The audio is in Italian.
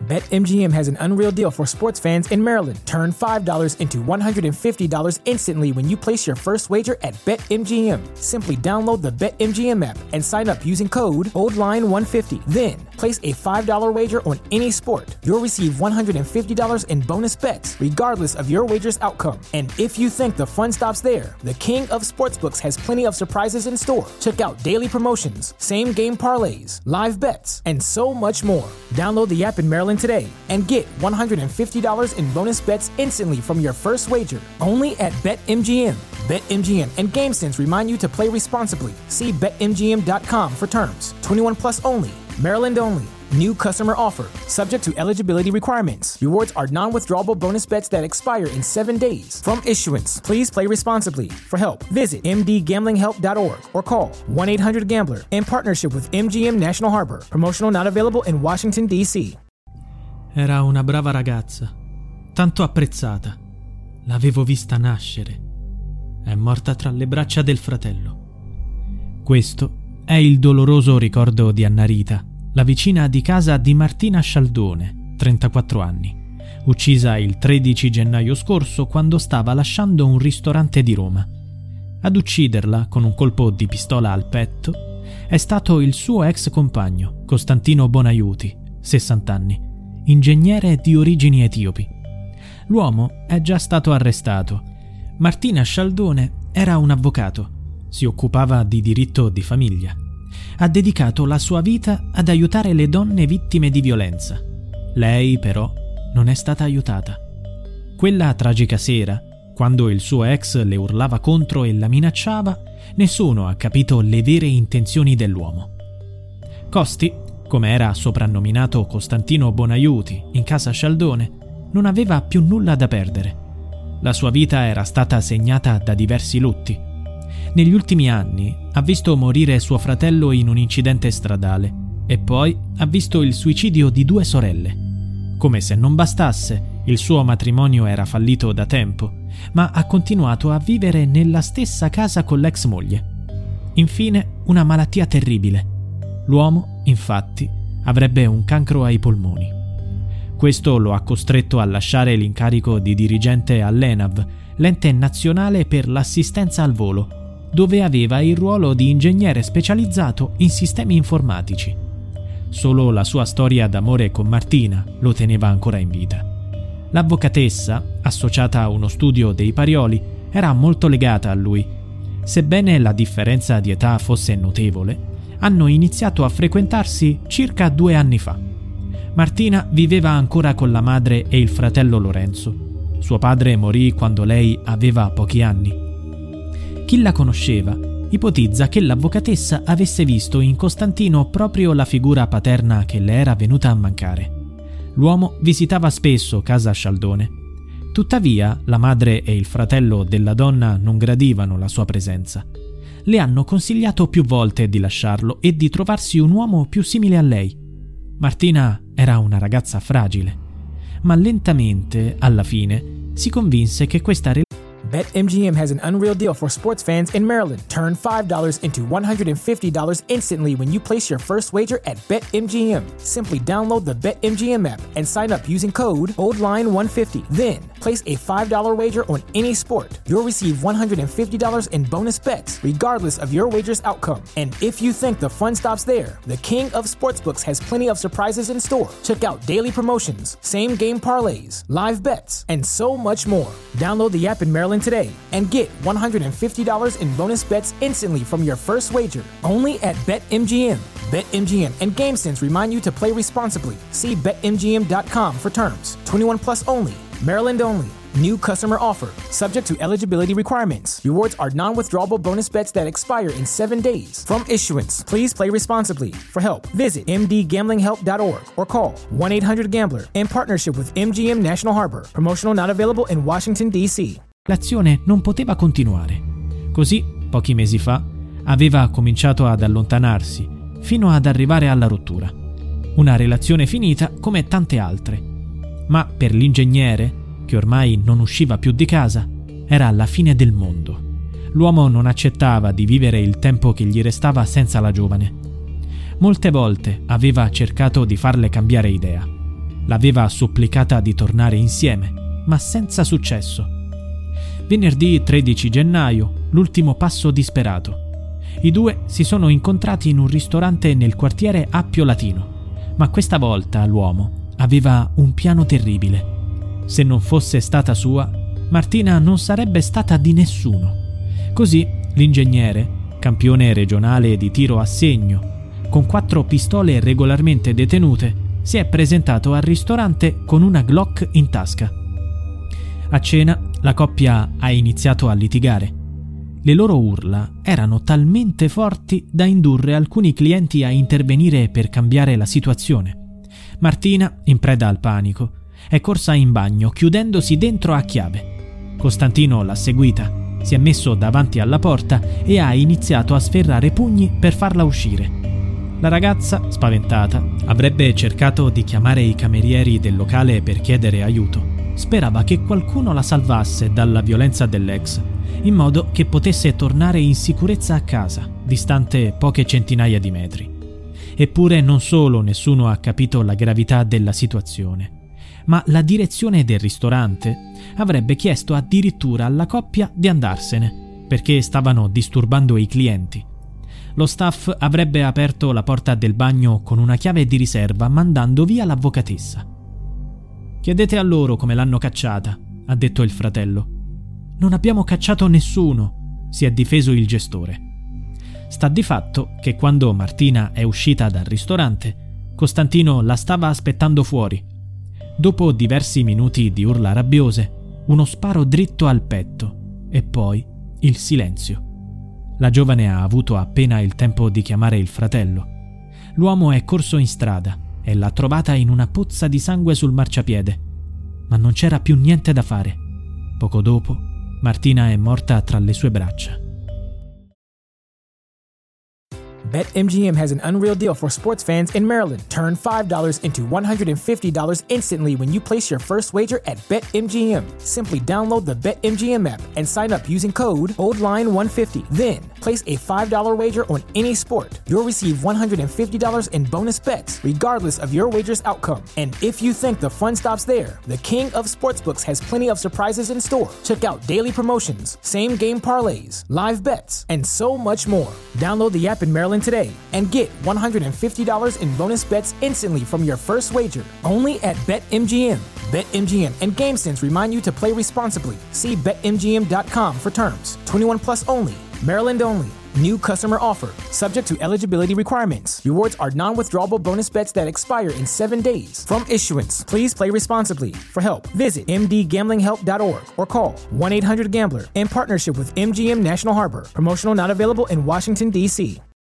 BetMGM has an unreal deal for sports fans in Maryland. Turn $5 into $150 instantly when you place your first wager at BetMGM. Simply download the BetMGM app and sign up using code OldLine150. Then, place a $5 wager on any sport. You'll receive $150 in bonus bets, regardless of your wager's outcome. And if you think the fun stops there, the king of sportsbooks has plenty of surprises in store. Check out daily promotions, same-game parlays, live bets, and so much more. Download the app in Maryland today and get $150 in bonus bets instantly from your first wager. Only at BetMGM. BetMGM and GameSense remind you to play responsibly. See BetMGM.com for terms. 21 plus only. Maryland only. New customer offer. Subject to eligibility requirements. Rewards are non-withdrawable bonus bets that expire in 7 days. From issuance, please play responsibly. For help, visit mdgamblinghelp.org or call 1-800-GAMBLER in partnership with MGM National Harbor. Promotional not available in Washington, D.C. Era una brava ragazza, tanto apprezzata. L'avevo vista nascere. È morta tra le braccia del fratello. Questo è il doloroso ricordo di Annarita, la vicina di casa di Martina Scialdone, 34 anni, uccisa il 13 gennaio scorso quando stava lasciando un ristorante di Roma. Ad ucciderla con un colpo di pistola al petto è stato il suo ex compagno, Costantino Bonaiuti, 60 anni, ingegnere di origini etiopi. L'uomo è già stato arrestato. Martina Scialdone era un avvocato, si occupava di diritto di famiglia. Ha dedicato la sua vita ad aiutare le donne vittime di violenza. Lei, però, non è stata aiutata. Quella tragica sera, quando il suo ex le urlava contro e la minacciava, nessuno ha capito le vere intenzioni dell'uomo. Costi, come era soprannominato Costantino Bonaiuti in casa Scialdone, non aveva più nulla da perdere. La sua vita era stata segnata da diversi lutti. Negli ultimi anni ha visto morire suo fratello in un incidente stradale e poi ha visto il suicidio di 2 sorelle. Come se non bastasse, il suo matrimonio era fallito da tempo, ma ha continuato a vivere nella stessa casa con l'ex moglie. Infine, una malattia terribile. L'uomo, infatti, avrebbe un cancro ai polmoni. Questo lo ha costretto a lasciare l'incarico di dirigente all'ENAV, l'ente nazionale per l'assistenza al volo, dove aveva il ruolo di ingegnere specializzato in sistemi informatici. Solo la sua storia d'amore con Martina lo teneva ancora in vita. L'avvocatessa, associata a uno studio dei Parioli, era molto legata a lui. Sebbene la differenza di età fosse notevole, hanno iniziato a frequentarsi circa 2 anni fa. Martina viveva ancora con la madre e il fratello Lorenzo. Suo padre morì quando lei aveva pochi anni. Chi la conosceva ipotizza che l'avvocatessa avesse visto in Costantino proprio la figura paterna che le era venuta a mancare. L'uomo visitava spesso casa Scialdone. Tuttavia, la madre e il fratello della donna non gradivano la sua presenza. Le hanno consigliato più volte di lasciarlo e di trovarsi un uomo più simile a lei. Martina era una ragazza fragile, ma lentamente, alla fine, si convinse che questa relazione. BetMGM has an unreal deal for sports fans in Maryland. Turn $5 into $150 instantly when you place your first wager at BetMGM. Simply download the BetMGM app and sign up using code OldLine150. Then, place a $5 wager on any sport. You'll receive $150 in bonus bets, regardless of your wager's outcome. And if you think the fun stops there, the king of sportsbooks has plenty of surprises in store. Check out daily promotions, same-game parlays, live bets, and so much more. Download the app in Maryland today and get $150 in bonus bets instantly from your first wager. Only at BetMGM. BetMGM and GameSense remind you to play responsibly. See BetMGM.com for terms. 21 plus only. Maryland only. New customer offer. Subject to eligibility requirements. Rewards are non-withdrawable bonus bets that expire in 7 days. From issuance, please play responsibly. For help, visit mdgamblinghelp.org or call 1-800-GAMBLER in partnership with MGM National Harbor. Promotional not available in Washington, D.C. L'azione non poteva continuare. Così, pochi mesi fa, aveva cominciato ad allontanarsi, fino ad arrivare alla rottura. Una relazione finita come tante altre. Ma per l'ingegnere, che ormai non usciva più di casa, era la fine del mondo. L'uomo non accettava di vivere il tempo che gli restava senza la giovane. Molte volte aveva cercato di farle cambiare idea. L'aveva supplicata di tornare insieme, ma senza successo. Venerdì 13 gennaio, l'ultimo passo disperato. I due si sono incontrati in un ristorante nel quartiere Appio Latino, ma questa volta l'uomo aveva un piano terribile. Se non fosse stata sua, Martina non sarebbe stata di nessuno. Così l'ingegnere, campione regionale di tiro a segno, con 4 pistole regolarmente detenute, si è presentato al ristorante con una Glock in tasca. A cena la coppia ha iniziato a litigare. Le loro urla erano talmente forti da indurre alcuni clienti a intervenire per cambiare la situazione. Martina, in preda al panico, è corsa in bagno chiudendosi dentro a chiave. Costantino l'ha seguita, si è messo davanti alla porta e ha iniziato a sferrare pugni per farla uscire. La ragazza, spaventata, avrebbe cercato di chiamare i camerieri del locale per chiedere aiuto. Sperava che qualcuno la salvasse dalla violenza dell'ex, in modo che potesse tornare in sicurezza a casa, distante poche centinaia di metri. Eppure non solo nessuno ha capito la gravità della situazione, ma la direzione del ristorante avrebbe chiesto addirittura alla coppia di andarsene, perché stavano disturbando i clienti. Lo staff avrebbe aperto la porta del bagno con una chiave di riserva, mandando via l'avvocatessa. «Chiedete a loro come l'hanno cacciata», ha detto il fratello. «Non abbiamo cacciato nessuno», si è difeso il gestore. Sta di fatto che quando Martina è uscita dal ristorante, Costantino la stava aspettando fuori. Dopo diversi minuti di urla rabbiose, uno sparo dritto al petto e poi il silenzio. La giovane ha avuto appena il tempo di chiamare il fratello. L'uomo è corso in strada e l'ha trovata in una pozza di sangue sul marciapiede, ma non c'era più niente da fare. Poco dopo, Martina è morta tra le sue braccia. BetMGM has an unreal deal for sports fans in Maryland. Turn $5 into $150 instantly when you place your first wager at BetMGM. Simply download the BetMGM app and sign up using code OldLine150. Then, place a $5 wager on any sport. You'll receive $150 in bonus bets, regardless of your wager's outcome. And if you think the fun stops there, the king of sportsbooks has plenty of surprises in store. Check out daily promotions, same-game parlays, live bets, and so much more. Download the app in Maryland today and get $150 in bonus bets instantly from your first wager. Only at BetMGM. BetMGM and GameSense remind you to play responsibly. See BetMGM.com for terms. 21 plus only. Maryland only. New customer offer. Subject to eligibility requirements. Rewards are non-withdrawable bonus bets that expire in 7 days. From issuance, please play responsibly. For help, visit mdgamblinghelp.org or call 1-800-GAMBLER in partnership with MGM National Harbor. Promotional not available in Washington, D.C.